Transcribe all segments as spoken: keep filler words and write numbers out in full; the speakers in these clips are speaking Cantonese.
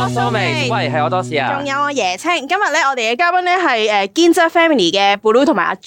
蘇眉，喂，係我多士啊！ 仲有我椰青，今日咧我哋嘅嘉賓咧係誒堅質 family 嘅 Blue 同埋阿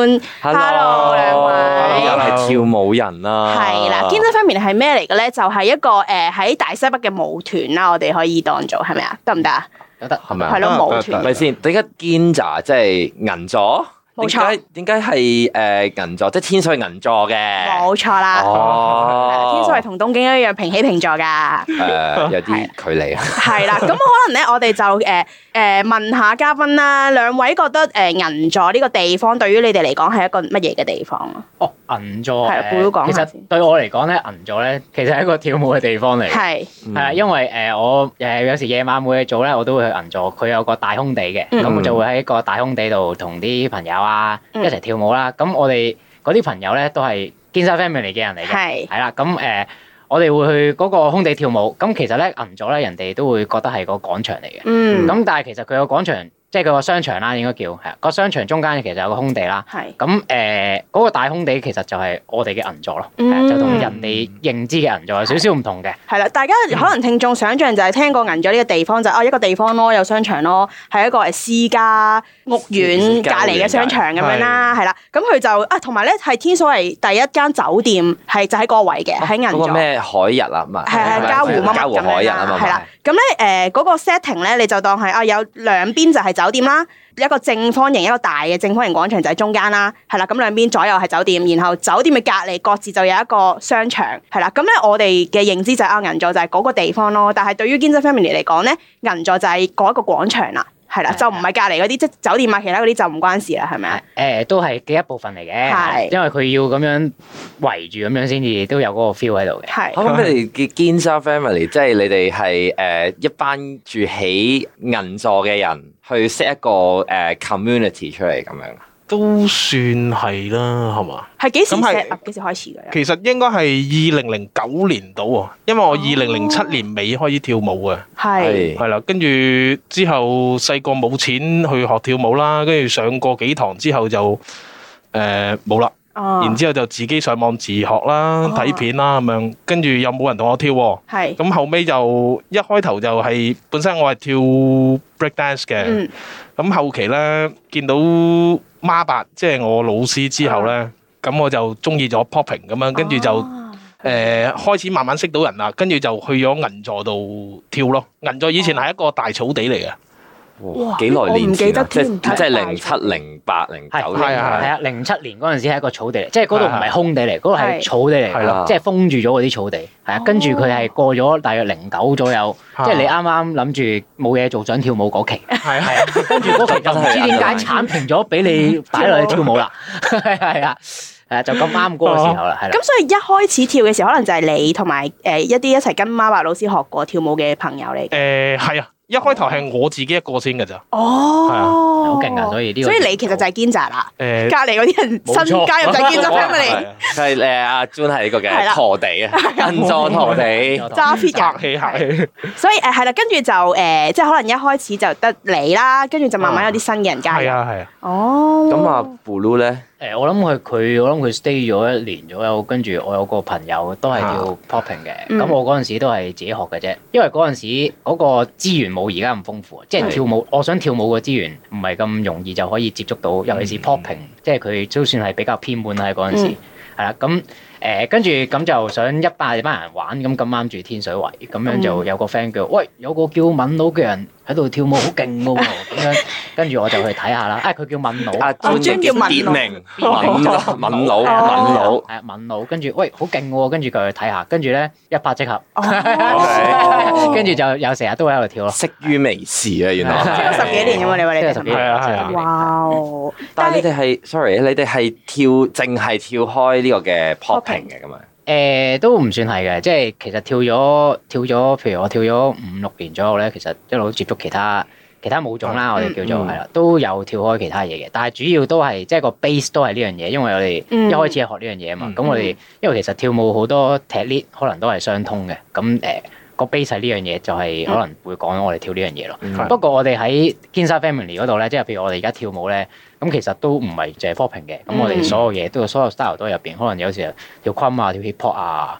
June。Hello 兩位， 又係跳舞人啦。 係啦，堅質 family 係咩嚟嘅咧？就係一個誒喺大西北嘅舞團啦，我哋可以當做係咪啊？得唔得啊？ 得，係咪啊？ 係咯，舞團。 咪先？點解堅咋？即係銀座？ 冇錯。 點解係誒銀座？即係天水銀座嘅。 冇錯啦。 哦。 天水係同東京一樣平起平坐㗎。 誒，有啲距離啊。 係啦，咁可能咧，我哋就誒誒問下嘉賓啦。兩位覺得誒銀座呢個地方對於你哋嚟講係一個乜嘢嘅地方啊？ 哦，銀座係，估都講下先。 其實對我嚟講咧，銀座咧其實係一個跳舞嘅地方嚟嘅。 係係啦，因為誒我誒有時夜晚冇嘢做咧，我都會去銀座。佢有個大空地嘅，咁我就會喺個大空地度同啲朋友啊一齊跳舞啦。咁我哋嗰啲朋友咧都係堅薩 family 嘅人嚟嘅。係係啦，咁誒我哋會去嗰個空地跳舞。咁其實咧銀座咧人哋都會覺得係個廣場嚟嘅。嗯。咁但係其實佢個廣場。即係佢個商場啦，應該叫係啊。個商場中間其實有個空地啦。係。咁誒嗰個大空地其實就係我哋嘅銀座咯。嗯。就同人哋認知嘅銀座有少少唔同嘅。係啦， 大家可能聽眾想像就係聽過銀座呢個地方就哦一個地方咯，有商場咯，係一個誒私家屋苑隔離嘅商場咁樣啦，係啦。咁佢就啊同埋咧係天水圍第一間酒店係就喺嗰個位嘅喺銀座。 嗰個咩海日啊嘛？ 係係嘉湖乜乜嘉湖海日啊嘛。 係啦。咁咧誒嗰個 setting 咧你就當係啊有兩邊就係酒店啦，一個正方形一個大嘅正方形廣場就喺中間啦，係啦，咁兩邊左右係酒店，然後酒店嘅隔離各自就有一個商場，係啦，咁咧我哋嘅認知就係啊銀座就係嗰個地方咯，但係對於堅質 family 嚟講咧，銀座就係嗰一個廣場啦，係啦，就唔係隔離嗰啲即係酒店啊，其他嗰啲就唔關事啦，係咪啊？ 誒都係嘅一部分嚟嘅，係，因為佢要咁樣圍住咁樣先至都有嗰個 feel 喺度嘅。係。 咁你哋嘅堅薩 family 即係你哋係誒一班住喺銀座嘅人。去 set 一個誒、uh, community 出嚟咁樣， 都算係啦，係嘛？ 係幾時 set up？幾時開始嘅？ 其實應該係二零零九年到喎，因為我二零零七年尾開始跳舞嘅，係係啦，跟住之後細個冇錢去學跳舞啦，跟住上過幾堂之後就誒冇啦。哦、然之後就自己上網自學啦，睇、哦、片啦咁樣，跟住又冇人同我跳喎。係。咁後尾就一開頭就係、是、本身我係跳 break dance 嘅。嗯。咁後期咧見到孖八即係我老師之後咧，咁、哦、我就中意咗 popping 咁樣，跟住就誒、哦呃、開始慢慢識到人啦，跟住就去咗銀座度跳咯。銀座以前係一個大草地嚟嘅。 哇！幾耐年前啊？即係即係零七、零八、零九年。 係啊係啊！零七年嗰陣時係一個草地嚟，即係嗰度唔係空地嚟，嗰度係草地嚟㗎，即係封住咗嗰啲草地。係啊，跟住佢係過咗大約零九左右，即係你啱啱諗住冇嘢做想跳舞嗰期。係係啊，跟住嗰期就唔知點解剷平咗，俾你擺落去跳舞啦。係係啊，誒就咁啱嗰個時候啦，係啦。 咁所以一開始跳嘅時候，可能就係你同埋誒一啲一齊跟孖八老師學過跳舞嘅朋友嚟。 誒係啊。一開頭係我自己一個先㗎咋， 哦，係啊， 好勁啊！所以呢個， 所以你其實就係堅紮啦。誒，隔離嗰啲人新加入就係堅紮 family。 係誒阿 June 係呢個嘅陀地啊，銀座陀地， 揸 fit 人， 客氣客氣。 所以誒係啦，跟住就誒，即係可能一開始就得你啦，跟住就慢慢有啲新嘅人加入。 係啊係啊。 哦。 咁啊 Blue 咧？ 誒，我諗佢佢，我諗佢 stay 咗一年左右，跟住我有個朋友都係跳 popping 嘅，咁、嗯、我嗰陣時都係自己學嘅啫，因為嗰陣時嗰個資源冇而家咁豐富，即係跳舞，我想跳舞嘅資源唔係咁容易就可以接觸到，尤其是 popping，、嗯、即係佢都算係比較偏門啦喺嗰陣時，係啦、嗯，咁。誒跟住咁就想一班班人玩，咁咁啱住天水圍，咁樣就有個 friend 叫，喂，有個叫敏佬嘅人喺度跳舞好勁喎，咁樣跟住我就去睇下啦。啊，佢叫敏佬， 啊，專叫敏佬，敏佬，敏佬，敏佬，係啊，敏佬。跟住喂，好勁喎，跟住佢去睇下，跟住咧一拍即合，跟住就有成日都喺度跳咯。 識於微時啊，原來。 即係十幾年㗎嘛，你話你哋十幾年？ 係啊係啊。 哇！ 但係你哋係，sorry，你哋係跳，淨係跳開呢個嘅 popping 嘅咁樣。 誒都唔算係嘅，即係其實跳咗跳咗，譬如我跳咗五六年左右咧，其實一路接觸其他其他舞種啦，我哋叫做係啦，都有跳開其他嘢嘅，但係主要都係即係個 base 都係呢樣嘢，因為我哋一開始係學呢樣嘢啊嘛，咁、嗯、我哋因為其實跳舞好多 technique 可能都係相通嘅，咁誒。呃個 base 係呢樣嘢，就係可能會講我哋跳呢樣嘢咯。嗯、不過我哋喺堅薩 family 嗰度咧，即係譬如我哋而家跳舞咧，咁其實都唔係淨係 popping 嘅。咁我哋所有嘢都有所有 style 都喺入邊。可能有時跳昆啊、跳 hip hop 啊、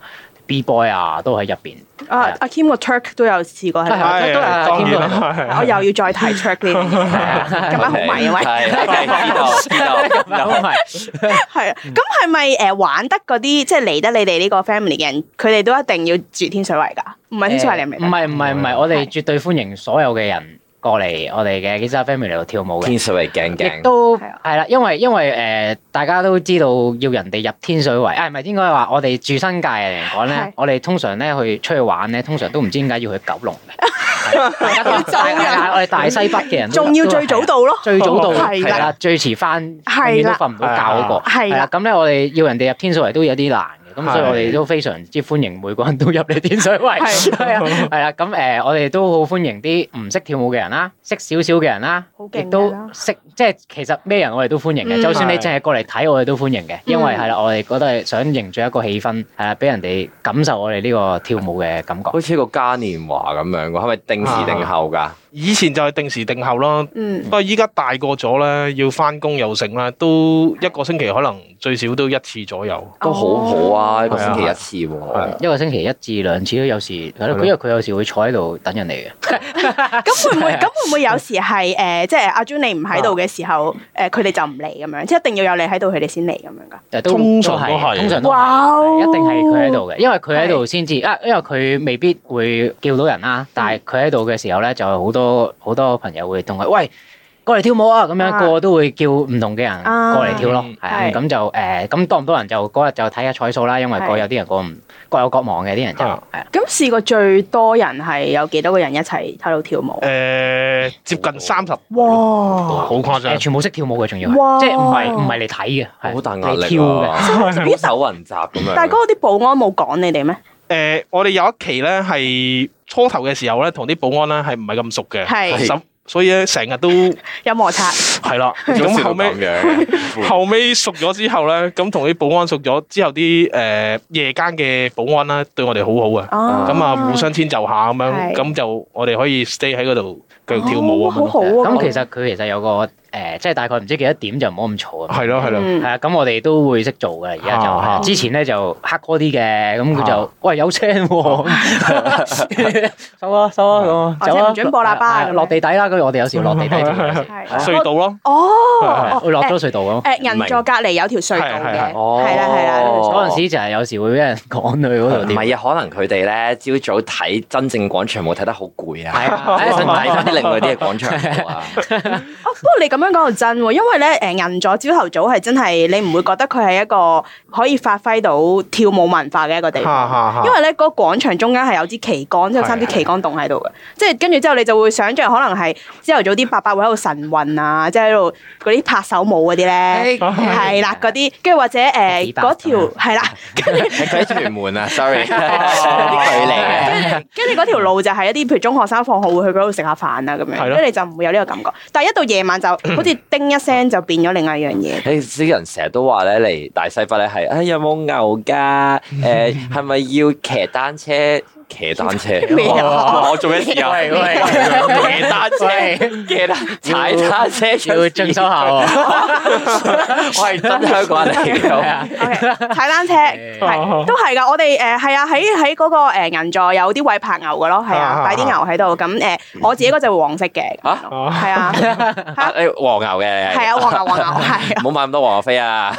B boy 啊，都喺入邊。 啊，阿 Kim 個 Turk 都有試過喺度， 係都係阿 Kim 我又要再睇 Turk 呢樣嘢，今晚好迷啊喂！ 係知道知道， 咁係係啊，咁係咪誒玩得嗰啲即係嚟得你哋呢個 family 嘅人，佢哋都一定要住天水圍㗎？唔係天水圍你明唔明？ 唔係唔係唔係，我哋絕對歡迎所有嘅人過嚟我哋嘅 Gizza Family 度跳舞嘅。 天水圍鏡鏡亦都係啦，因為因為誒、呃、大家都知道要人哋入天水圍，啊唔係應該話我哋住新界嚟講咧，我哋通常咧去出去玩咧，通常都唔知點解要去九龍嘅。大家都係我哋大西北嘅人， 仲要最早到咯， 最早到係啦，最遲翻永遠都瞓唔到覺嗰個。 係啦，咁咧我哋要人哋入天水圍都有啲難。咁所以我哋都非常之歡迎每個人都入嚟天水圍，係啊，係啦。咁誒，我哋都好歡迎啲唔識跳舞嘅人啦，識少少嘅人啦，亦都識即係其實咩人我哋都歡迎嘅。就算你淨係過嚟睇，我哋都歡迎嘅，因為係啦，我哋覺得係想凝聚一個氣氛，係啦，俾人哋感受我哋呢個跳舞嘅感覺。 好似個嘉年華咁樣㗎，係咪定時定候㗎？ 以前就係定時定候咯， 嗯， 不過依家大個咗咧，要翻工又成啦，都一個星期可能最少都一次左右， 都好好啊，一個星期一次喎， 一個星期一至兩次都有時，係咯，因為佢有時會坐喺度等人嚟嘅。 咁會唔會？咁會唔會有時係誒，即係阿 Jun 你唔喺度嘅時候，誒佢哋就唔嚟咁樣，即係一定要有你喺度，佢哋先嚟咁樣㗎？ 通常都係， 通常都係，一定係佢喺度嘅，因為佢喺度先至啊，因為佢未必會叫到人啦，但係佢喺度嘅時候咧，就係好多。好多朋友會同佢喂過嚟跳舞啊，咁樣個個都會叫唔同嘅人過嚟跳咯，係啊，咁就誒咁多唔多人就嗰日就睇下彩數啦，因為各有啲人個唔各有各忙嘅啲人就係啊。 咁試過最多人係有幾多個人一齊喺度跳舞？ 誒接近三十， 哇， 好誇張， 全部識跳舞嘅，仲要哇即係唔係唔係嚟睇嘅， 好大壓力嚟跳嘅， 好手雲集咁樣。 但係嗰個啲保安冇趕你哋咩？ 誒，我哋有一期咧係初頭嘅時候咧，同啲保安咧係唔係咁熟嘅， 係， 所以咧成日都有摩擦。 係啦，咁後尾後尾熟咗之後咧，咁同啲保安熟咗之後，啲誒夜間嘅保安啦對我哋好好啊，咁啊互相遷就下咁樣，咁就我哋可以 stay 喺嗰度繼續跳舞啊。 好好啊！ 咁其實佢其實有個。誒，即係大概唔知幾多點就唔好咁嘈啊！ 係咯係咯， 係啊，咁我哋都會識做嘅。而家就之前咧就黑哥啲嘅，咁佢就喂有聲喎，收啊收啊咁，走啊！ 唔準播喇叭， 落地底啦。跟住我哋有時落地底做隧道咯。 哦， 會落咗隧道咯。 誒，銀座隔離有條隧道嘅，係啦係啦。 嗰陣時就係有時會俾人趕去嗰度。 唔係啊，可能佢哋咧朝早睇真正廣場舞睇得好攰啊， 係啊， 想睇翻啲另外啲嘅廣場舞啊。 哦，不過你咁樣講到真喎，因為咧誒銀座朝頭早係真係你唔會覺得佢係一個可以發揮到跳舞文化嘅一個地方，因為咧嗰個廣場中間係有支旗杆，即係三支旗杆棟喺度嘅，即係跟住之後你就會想像可能係朝頭早啲伯伯會喺度晨運啊，即係喺度嗰啲拍手舞嗰啲咧，係啦嗰啲，跟住或者誒嗰條係啦，跟住喺屯門啊，sorry，有啲距離嘅， 跟住嗰條路就係一啲譬如中學生放學會去嗰度食下飯啊咁樣，跟住你就唔會有呢個感覺，但係一到夜晚就好似叮一聲就變咗另外一樣嘢。 誒啲人成日都話咧嚟大西北咧係，誒有冇牛㗎？誒係咪要騎單車？騎單車，我做咩事啊？騎單車，騎單踩單車要進修下喎。 我係真香港人嚟嘅。 踩單車係都係㗎，我哋誒係啊喺喺嗰個誒銀座有啲位拍牛嘅咯，係啊擺啲牛喺度。咁誒我自己嗰隻會黃色嘅，係啊誒黃牛嘅， 係啊黃牛黃牛係。 唔好買咁多黃牛飛啊！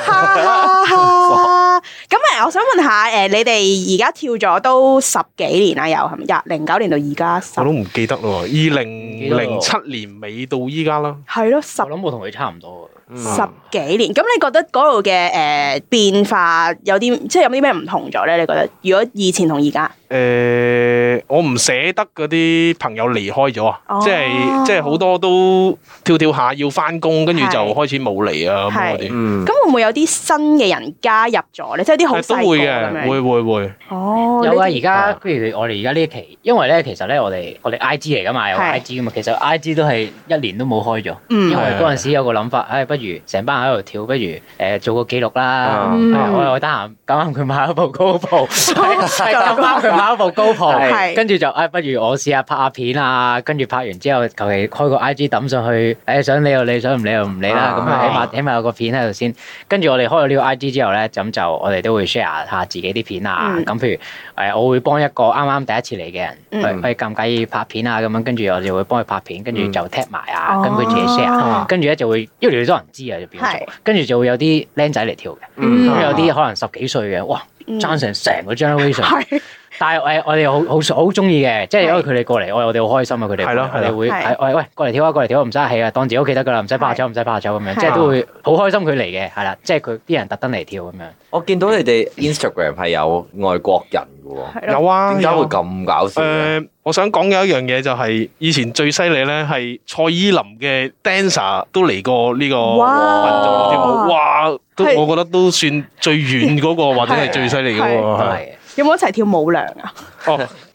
咁誒，我想問下誒，你哋而家跳咗都十幾年啦，又係咪？廿零九年到而家， 我都唔記得咯。二零零七年尾到依家啦， 係咯，十我諗我同佢差唔多。 十幾年，咁你覺得嗰度嘅誒變化有啲，即係有啲咩唔同咗咧？你覺得如果以前同而家？ 誒、呃，我唔捨得嗰啲朋友離開咗啊、哦，即係即係好多都跳跳下要翻工，跟住就開始冇嚟啊咁嗰啲。嗯， 咁會唔會有啲新嘅人加入咗咧？即係啲好細個都會嘅，會會會。 哦， 有啊！而家譬如我哋而家呢一期，因為咧其實咧我哋我哋 I G 嚟噶嘛，有 I G 噶嘛，其實 I G 都係一年都冇開咗，因為嗰陣時有個諗法，唉、哎，不如如成班人喺度跳，不如誒做個記錄啦。我又得閒，咁啱佢買咗部 GoPro，咁啱佢買咗部 GoPro，跟住就誒，不如我試下拍下片啊。跟住拍完之後，求其開個 I G 抌上去，誒想理就理，想唔理就唔理啦。咁啊，起碼起碼有個片喺度先。跟住我哋開咗呢個 I G 之後咧，咁就我哋都會 share 下自己啲片啊。咁譬如誒，我會幫一個啱啱第一次嚟嘅人，佢介唔介意拍片啊？咁樣跟住我就會幫佢拍片，跟住就 tag 埋啊，跟佢自己 share。跟住咧就會越嚟越多人知啊，就變咗。跟住就會有啲僆仔嚟跳嘅，咁有啲可能十幾歲嘅，哇，爭成成個 generation。但係誒，我哋好好好中意嘅，即係因為佢哋過嚟，我我哋好開心啊！佢哋係咯，我哋會係喂喂過嚟跳啊，過嚟跳啊，唔使氣啊，當自己屋企得噶啦，唔使怕醜，唔使怕醜咁樣，即係都會好開心佢嚟嘅，係啦，即係佢啲人特登嚟跳咁樣。 我見到你哋 Instagram 係有外國人嘅喎， 有啊， 點解會咁搞笑？ 誒，我想講有一樣嘢就係以前最犀利咧，係蔡依林嘅 dancer 都嚟過呢個運動跳舞，哇！都我覺得都算最遠嗰個或者係最犀利嘅喎。 有冇一齊跳舞娘啊？ 哦，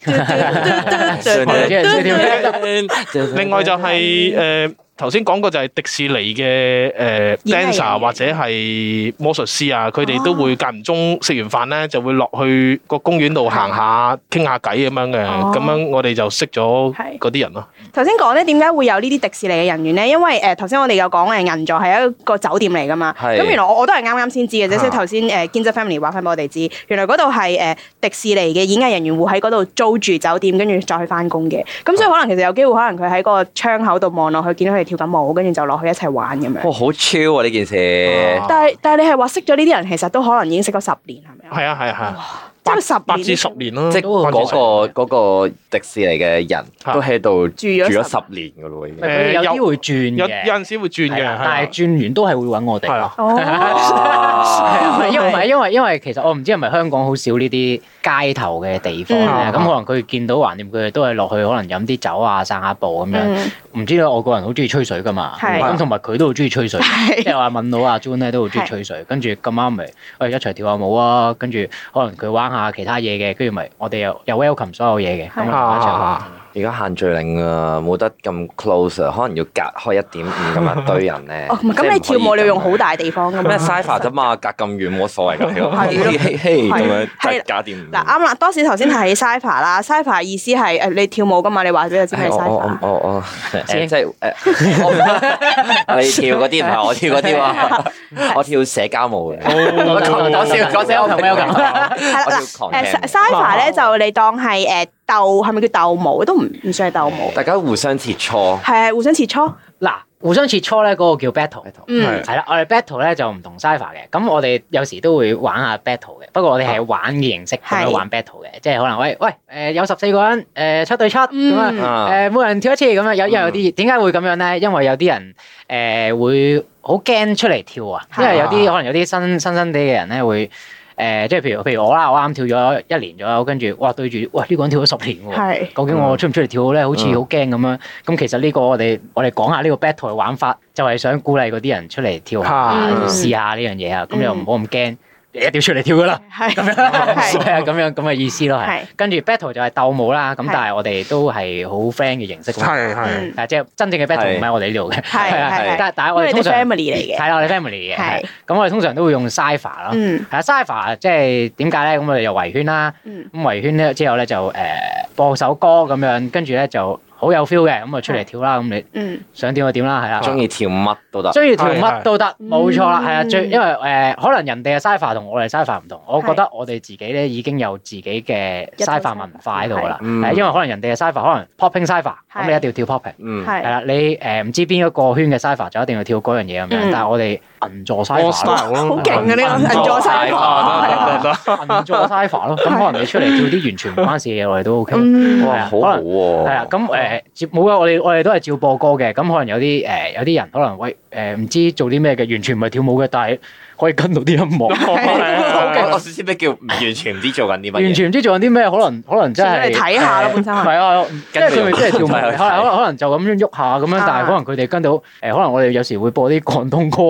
另外就係誒頭先講過就係迪士尼嘅誒 dancer 或者係魔術師啊，佢哋都會間唔中食完飯咧就會落去個公園度行下傾下偈咁樣嘅，咁樣我哋就識咗嗰啲人咯。 頭先講咧點解會有呢啲迪士尼嘅人員咧？因為誒頭先我哋有講誒銀座係一個酒店嚟噶嘛，咁原來我我都係啱啱先知嘅啫，所以頭先誒建設 family 話翻俾我哋知，原來嗰度係誒迪士尼嘅演藝人員會喺嗰度租住酒店，跟住再去翻工嘅。咁所以可能其實有機會，可能佢喺個窗口度望落去，見到佢哋跳緊舞，跟住就落去一齊玩咁樣。 哇，好 chill 啊呢件事！ 但係但係你係話識咗呢啲人，其實都可能已經識咗十年，係咪啊？ 係啊係啊係啊！ 即係十八至十年咯， 即係嗰個嗰個迪士尼嘅人都喺度住咗十年噶咯，已經。 誒有啲會轉嘅， 有有陣時會轉嘅， 但係轉完都係會揾我哋。係啊， 哦， 因為唔係因為因為其實我唔知係咪香港好少呢啲街頭嘅地方咧，咁可能佢見到橫掂佢哋都係落去可能飲啲酒啊、散下步咁樣。唔知咧，外國人好中意吹水噶嘛，咁同埋佢都好中意吹水，即係話問到阿 June 咧都好中意吹水，跟住咁啱咪誒一齊跳下舞啊，跟住可能佢玩下其他嘢嘅，跟住咪我哋又又 welcome 所有嘢嘅，咁啊一齊玩。 而家限聚令啊，冇得咁 close 啊，可能要隔開一點五咁樣堆人咧。 哦，咁你跳舞你要用好大地方噶嘛？ 咩 Cypher 啫嘛，隔咁遠冇所謂㗎，嘿嘿嘿咁樣隔點五。 嗱啱啦，當時頭先提起 Cypher 啦 ，Cypher 意思係誒你跳舞噶嘛？你話俾佢知咩 Cypher？ 我我我誒即係誒，你跳嗰啲唔係我跳嗰啲喎，我跳社交舞嘅。講笑講笑，我同 Mel 咁。係啦， 誒 Cypher 咧就你當係誒。鬥係咪叫鬥舞？都唔唔算係鬥舞。 大家互相切磋。 係啊，互相切磋。 嗱，互相切磋咧，嗰個叫 battle。 嗯， 係啦，我哋 battle 咧就唔同 Cypher 嘅。咁我哋有時都會玩下 battle 嘅。不過我哋係玩嘅形式咁樣玩 battle 嘅，即係可能喂喂誒有十四個人誒七對七咁啊誒每人跳一次咁樣。有因為有啲點解會咁樣咧？因為有啲人誒會好驚出嚟跳啊，因為有啲可能有啲新新新地嘅人咧會。誒，即係譬如譬如我啦，我啱跳咗一年左右，跟住哇對住，哇呢個人跳咗十年喎，究竟我出唔出嚟跳咧？好似好驚咁樣。咁其實呢個我哋我哋講下呢個 battle 嘅玩法，就係想鼓勵嗰啲人出嚟跳下，試下呢樣嘢啊。咁又唔好咁驚。一定要出嚟跳噶啦，係咁樣，係啊，咁樣咁嘅意思咯，係。跟住 battle 就係鬥舞啦，咁但係我哋都係好 friend 嘅形式， 係係， 係即係真正嘅 battle 唔喺我哋呢度嘅，係係。但但係我哋通常 family 嚟嘅， 係啦，我哋 family 嘅，係。咁我哋通常都會用 Cypher 咯，係啊 Cypher 即係點解咧？咁我哋又圍圈啦，咁圍圈咧之後咧就誒播首歌咁樣，跟住咧就。好有 feel 嘅，咁啊出嚟跳啦，咁你想點就點啦，係啦。 中意跳乜都得， 中意跳乜都得，冇錯啦，係啊，最因為誒可能人哋嘅 Cypher 同我哋 Cypher 唔同，我覺得我哋自己咧已經有自己嘅 Cypher 文化喺度噶啦，係因為可能人哋嘅 Cypher 可能 popping Cypher，咁你一定要跳 popping，係啦，你誒唔知邊一個圈嘅 Cypher 就一定要跳嗰樣嘢咁樣，但係我哋銀座 Cypher 好勁啊呢個銀座 Cypher， 銀座 Cypher 咯，咁可能你出嚟跳啲完全唔關事嘅嘢，我哋都 OK， 哇好好喎， 係啊，咁誒。誒接冇啊！我哋我哋都係照播歌嘅，咁可能有啲誒有啲人可能喂誒唔知做啲咩嘅，完全唔係跳舞嘅，但係可以跟到啲音樂。 我先知咩叫完全唔知做緊啲乜嘢。完全唔知做緊啲咩，可能可能真係睇下咯，本身係。係啊，即係佢咪真係跳舞，可能可能就咁樣喐下咁樣，但係可能佢哋跟到誒，可能我哋有時會播啲廣東歌咁樣，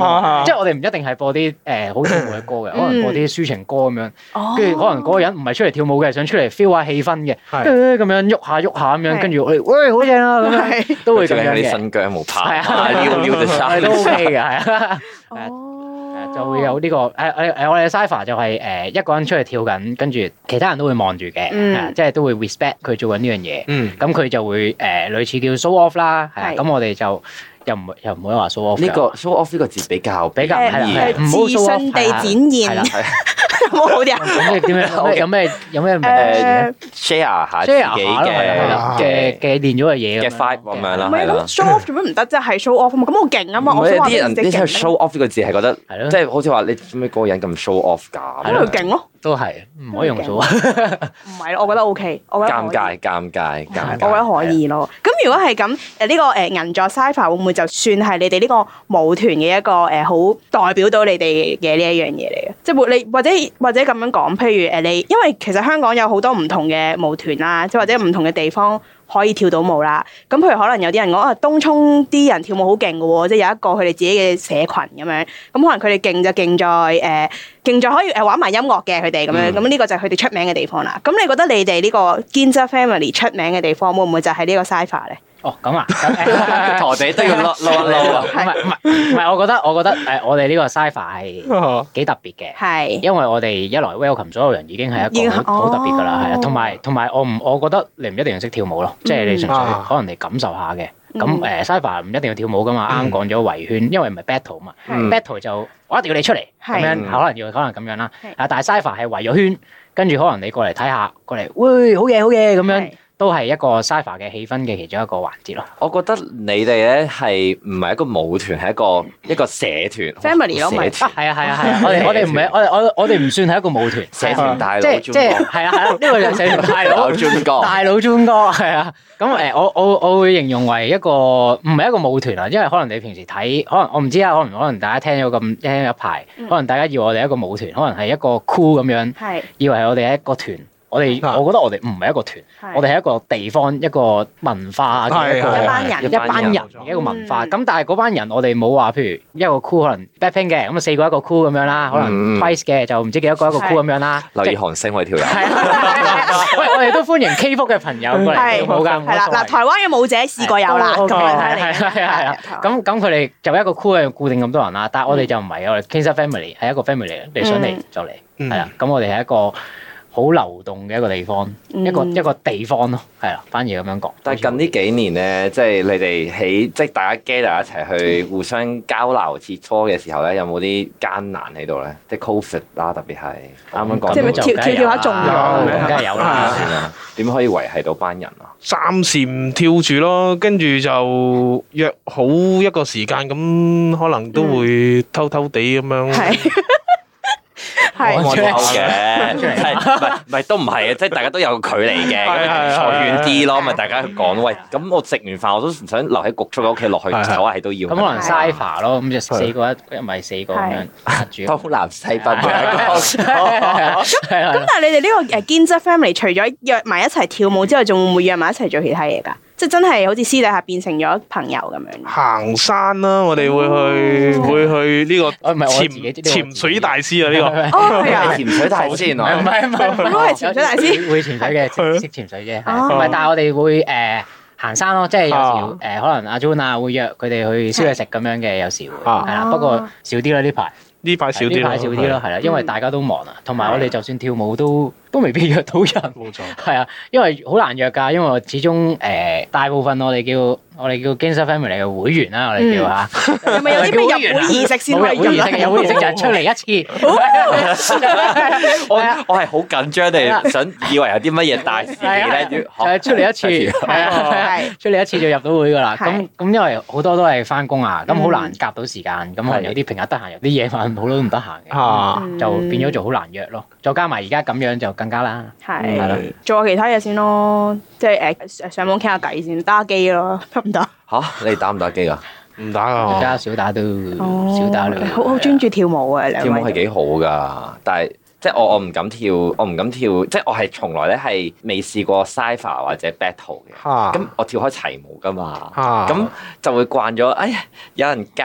嘛。即係我哋唔一定係播啲誒好跳舞嘅歌嘅，可能播啲抒情歌咁樣。跟住可能嗰個人唔係出嚟跳舞嘅，想出嚟 feel 下氣氛嘅，咁樣喐下喐下咁樣，跟住我哋喂好正啊咁樣，都會咁樣嘅。 啲新疆舞拍，撩撩嘅衫都 OK 嘅，係啊。就會有呢個誒誒誒，我哋嘅 Cypher 就係誒一個人出去跳緊，跟住其他人都會望住嘅，即係都會 respect 佢做緊呢樣嘢。咁佢就會誒類似叫 show off 啦，係啊。咁我哋就又唔又唔可以話 show off。 呢個 show off 呢個字比較比較係唔好 show off，地展現。有冇好啲啊？ 咁你點樣？有咩有咩名詞 share 下自己嘅嘅嘅練咗嘅嘢嘅 vibe 咁樣啦。 唔係咁 show off 做乜唔得啫？係 show off 啊嘛，咁我勁啊嘛。我想話啲人啲 show off 呢個字係覺得，即係好似話你做咩嗰個人咁 show off 㗎？ 咁佢勁咯。 都係唔可以用 show。 唔係咯，我覺得 OK。我覺得尷尬，尷尬，尷尬。 我覺得可以咯。咁如果係咁，誒呢個誒銀座 Cypher 會唔會就算係你哋呢個舞團嘅一個誒好代表到你哋嘅呢一樣嘢嚟嘅？即係你或者或者咁樣講，譬如誒你，因為其實香港有好多唔同嘅舞團啦，即係或者唔同嘅地方可以跳到舞啦。咁譬如可能有啲人講啊，東涌啲人跳舞好勁嘅喎，即係有一個佢哋自己嘅社群咁樣。咁可能佢哋勁就勁在誒，勁在可以誒玩埋音樂嘅佢哋咁樣。咁呢、嗯、個就係佢哋出名嘅地方啦。咁你覺得你哋呢個 Ginza Family 出名嘅地方會唔會就係呢個 Cypher 咧？ 哦，咁啊， 陀地都要撈撈一撈啊！ 唔係唔係唔係，我覺得我覺得誒，我哋呢個 Cypher 係幾特別嘅，係因為我哋一來 welcome 所有人已經係一個好好特別噶啦，係啊，同埋同埋我唔，我覺得你唔一定要識跳舞咯，即係你純粹可能你感受下嘅。咁誒 Cypher 唔一定要跳舞噶嘛，啱啱講咗圍圈，因為唔係 battle 嘛，battle 就我一定要你出嚟咁樣，可能要可能咁樣啦。啊，但係 Cypher 係圍咗圈，跟住可能你過嚟睇下，過嚟，喂，好嘢好嘢咁樣。都係一個 Cypher 嘅氣氛嘅其中一個環節咯。 我覺得你哋咧係唔係一個舞團，係一個一個社團 family 咯，咪係啊係啊係啊！我哋我哋唔係我我我哋唔算係一個舞團， 社團大佬， 即係即係係啊係啊！呢個就社團大佬專哥，大佬專哥係啊。咁誒，我我我會形容為一個唔係一個舞團啊，因為可能你平時睇，可能我唔知啊，可能可能大家聽咗咁聽一排，可能大家以為我哋一個舞團，可能係一個 crew 咁樣，係以為係我哋係一個團。我哋，我覺得我哋唔係一個團，我哋係一個地方、一個文化嘅一個一班人、 一班人嘅一個文化。咁但係嗰班人，我哋冇話，譬如一個 crew 可能 Blackpink 嘅，咁啊四個一個 crew 咁樣啦，可能 Twice 嘅就唔知幾多個一個 crew 咁樣啦。 留意韓星我哋條友。 喂，我哋都歡迎 K-pop 嘅朋友過嚟跳舞㗎。 係啦，嗱，台灣嘅舞者試過有啦，咁樣睇嚟。 係係係。咁咁佢哋就一個 crew 係固定咁多人啦，但係我哋就唔係，我哋 Ginza Family 係一個 family 嚟嘅，你想嚟就嚟，係啦。咁我哋係一個好流動嘅一個地方，嗯、一個一個地方咯，係啦，反而咁樣講。 但係近呢幾年咧，即係你哋喺即係大家 gather 一齊去互相交流切磋嘅時候咧，有冇啲艱難喺度咧？即係 Covid 啦，特別係啱啱講。 即係跳跳跳下中咗， 梗係有啦。 點可以維係到班人啊？ 暫時唔跳住咯，跟住就約好一個時間，咁可能都會偷偷地咁樣。 係。 係我哋好嘅，係唔係唔係都唔係嘅，即係大家都有距離嘅，坐遠啲咯，咪大家講喂，咁我食完飯我都唔想留喺焗粥嘅屋企落去唞下氣都要。 咁可能 Cypher 咯，咁就四個一，一咪四個咁樣壓住。 東南西北嘅一個。 咁但係你哋呢個誒 Ginza Family 除咗約埋一齊跳舞之外，仲會唔會約埋一齊做其他嘢㗎？即係真係好似私底下變成咗朋友咁樣。行山啦，我哋會去會去呢個潛潛水大師啊，呢個。 哦，係啊， 潛水大師原來。 唔係唔係， 我都係潛水大師。 會潛水嘅，識潛水啫。唔係，但係我哋會誒行山咯，即係有時誒可能阿 June 啊會約佢哋去燒嘢食咁樣嘅，有時會係啦，不過少啲啦呢排。 呢排少啲， 呢排少啲咯，係啦，因為大家都忙啊，同埋我哋就算跳舞都都未必約到人。 冇錯。 係啊，因為好難約㗎，因為我始終誒大部分我哋叫我哋叫 Ginza Family 嘅會員啦，我哋叫嚇。 係咪有啲咩入會儀式先可以入啊？ 有會儀式就係出嚟一次。 我我係好緊張地想以為有啲乜嘢大事咧， 誒出嚟一次，係啊，出嚟一次就入到會㗎啦。咁咁因為好多都係翻工啊，咁好難夾到時間，咁可能有啲平日得閒，有啲夜晚好多都唔得閒嘅，就變咗做好難約咯。再加埋而家咁樣就更加啦。 係，係咯，做下其他嘢先咯，即係誒上網傾下偈先，打機咯，得唔得？ 嚇，你打唔打機啊？ 唔打啊， 而家少打都少打啦。 好好專注跳舞啊！ 跳舞係幾好㗎，但係即係我我唔敢跳，我唔敢跳，即係我係從來咧係未試過 Cypher 或者 battle 嘅。咁我跳開齊舞㗎嘛，咁就會慣咗。哎呀，有人教。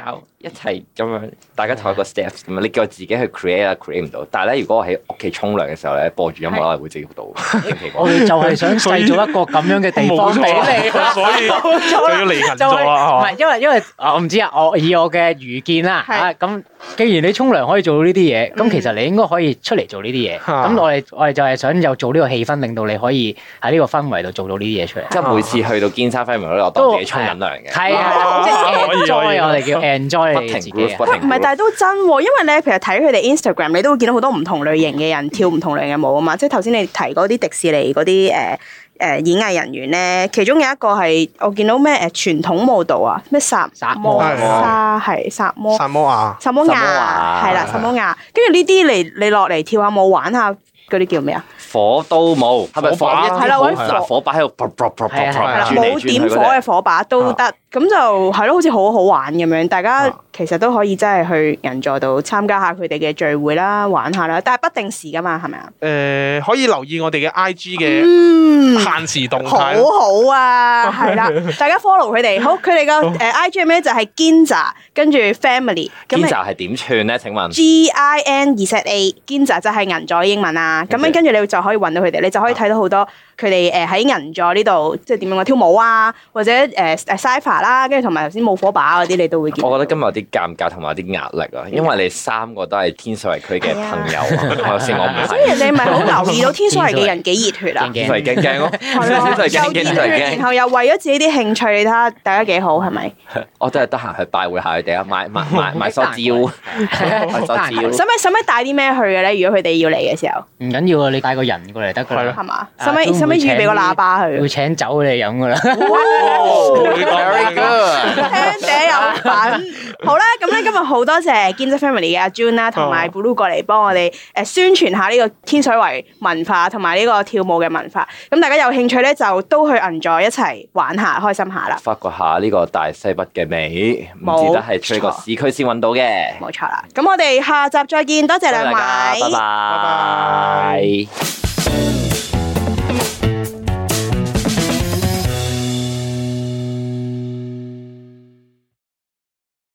一齊咁樣，大家同一個 steps 咁樣，你叫我自己去 create 啊 create 唔到。但係咧，如果我喺屋企沖涼嘅時候咧，播住音樂咧，會自己到。 我哋就係想製造一個咁樣嘅地方俾你， 所以就要離近咗啦。 唔係因為因為我唔知啊，我以我嘅愚見啦，啊咁，既然你沖涼可以做到呢啲嘢，咁其實你應該可以出嚟做呢啲嘢。咁我哋我哋就係想有做呢個氣氛，令到你可以喺呢個氛圍度做到呢啲嘢出嚟。 即係每次去到堅沙輝明嗰度，我當自己沖緊涼嘅。 係啊，即係 enjoy 我哋叫 enjoy 你自己。 唔係，但係都真喎，因為咧，其實睇佢哋 Instagram，你都會見到好多唔同類型嘅人跳唔同類型嘅舞啊嘛。即係頭先你提嗰啲迪士尼嗰啲誒誒演藝人員咧，其中有一個係我見到咩誒傳統舞蹈啊，咩薩摩沙係薩摩薩摩亞薩摩亞係啦，薩摩亞。跟住呢啲嚟你落嚟跳下舞玩下嗰啲叫咩啊？ 火刀舞係咪火把？ 係啦，揾火火把喺度， 冇點火嘅火把都得。咁就係咯，好似好好玩咁樣，大家其實都可以真係去銀座度參加下佢哋嘅聚會啦，玩下啦，但係不定時噶嘛，係咪啊？ 誒，可以留意我哋嘅 I G 嘅限時動態。 好好啊，係啦，大家 follow 佢哋。好，佢哋個誒 I G 係咩？就係 Ginza 跟住 Family。 Ginza 係點串咧？請問 G I N Z A Ginza 就係銀座英文啊。咁樣跟住你就可以揾到佢哋，你就可以睇到好多佢哋誒喺銀座呢度即係點樣嘅跳舞啊，或者誒誒 Cypher 啦，跟住同埋頭先冇火把嗰啲，你都會見。 我覺得今日有啲尷尬同埋有啲壓力啊，因為你三個都係天水圍區嘅朋友啊，頭先我唔係。所以你咪好留意到天水圍嘅人幾熱血啊？ 天水圍驚驚咯， 又熱血，然後又為咗自己啲興趣，你睇下大家幾好係咪？ 我真係得閒去拜會下佢哋啊，買買買買梳蕉，買梳蕉。 使唔使使唔使帶啲咩去嘅咧？如果佢哋要嚟嘅時候， 唔緊要啊，你帶個人過嚟得㗎啦， 係嘛？使唔使使唔使預備個喇叭去？ 會請酒你哋飲㗎啦。 Very good， 聽者有份。好啦，咁咧今日好多謝 Ginza Family 嘅阿 June 啦，同埋 Blue 過嚟幫我哋誒宣傳下呢個天水圍文化同埋呢個跳舞嘅文化。咁大家有興趣咧，就都去銀座一齊玩下，開心下啦。 發掘下呢個大西北嘅美，唔止得係出個市區先揾到嘅。 冇錯啦，咁我哋下集再見，多謝兩位， 拜拜。